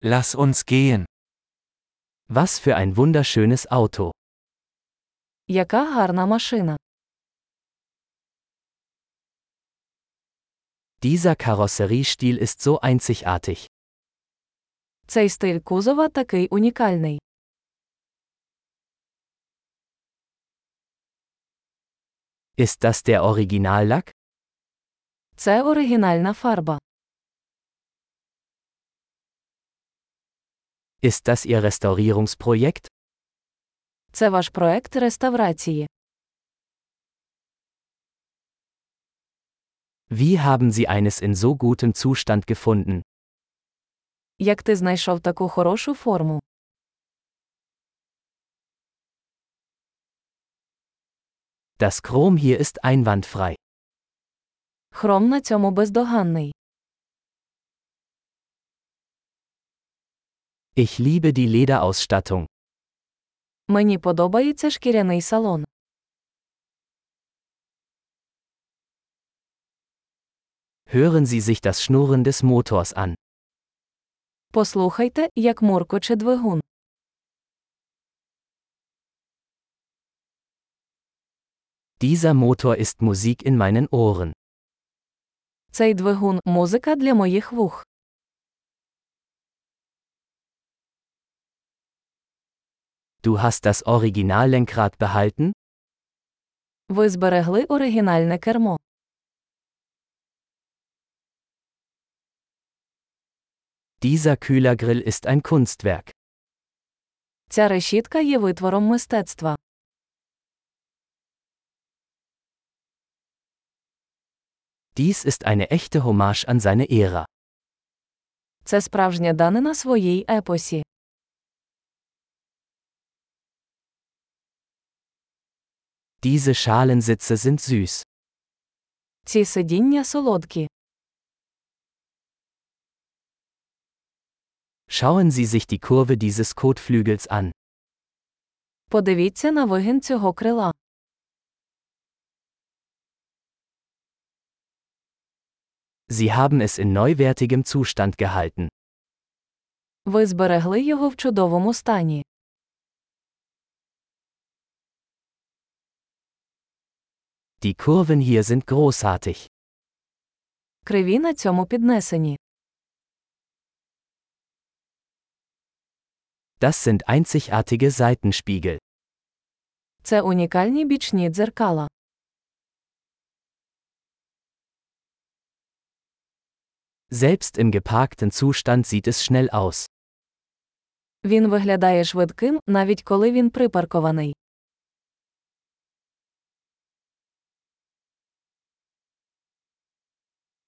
Lass uns gehen. Was für ein wunderschönes Auto. Яка гарна машина. Dieser Karosseriestil ist so einzigartig. Цей стиль кузова такий унікальний. Ist das der Originallack? Це оригінальна фарба. Ist das Ihr Restaurierungsprojekt? Це ваш проект реставрації. Wie haben Sie eines in so gutem Zustand gefunden? Як ти знайшов таку хорошу форму? Das Chrom hier ist einwandfrei. Хром на цьому бездоганний. Ich liebe die Lederausstattung. Мені подобається шкіряний салон. Hören Sie sich das Schnurren des Motors an. Послухайте, як муркоче двигун. Dieser Motor ist Musik in meinen Ohren. Цей двигун – музика для моїх вух. Du hast das Originallenkrad behalten? Ви зберегли оригінальне кермо. Dieser Kühlergrill ist ein Kunstwerk. Ця решітка є витвором мистецтва. Dies ist eine echte Hommage an seine Ära. Це справжня данина своїй епосі. Diese Schalensitze sind süß. Ці сидіння солодкі. Schauen Sie sich die Kurve dieses Kotflügels an. Подивіться на вигін цього крила. Sie haben es in neuwertigem Zustand gehalten. Ви зберегли його в чудовому стані. Die Kurven hier sind großartig. Криві на цьому піднесені. Das sind einzigartige Seitenspiegel. Це унікальні бічні дзеркала. Selbst im geparkten Zustand sieht es schnell aus. Він виглядає швидким, навіть коли він припаркований.